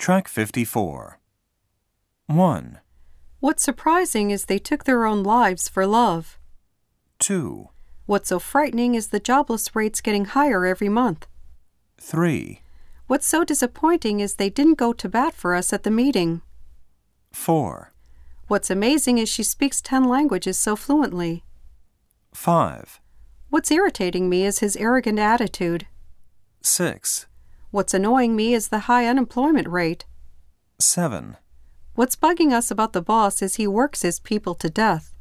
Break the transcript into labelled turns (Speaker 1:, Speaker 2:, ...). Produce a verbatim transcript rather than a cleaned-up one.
Speaker 1: Track fifty-four. one.
Speaker 2: What's surprising is they took their own lives for love.
Speaker 1: two.
Speaker 2: What's so frightening is the jobless rate's getting higher every month.
Speaker 1: three.
Speaker 2: What's so disappointing is they didn't go to bat for us at the meeting.
Speaker 1: four.
Speaker 2: What's amazing is she speaks ten languages so fluently.
Speaker 1: five.
Speaker 2: What's irritating me is his arrogant attitude.
Speaker 1: six.
Speaker 2: What's annoying me is the high unemployment rate.
Speaker 1: seven.
Speaker 2: What's bugging us about the boss is he works his people to death.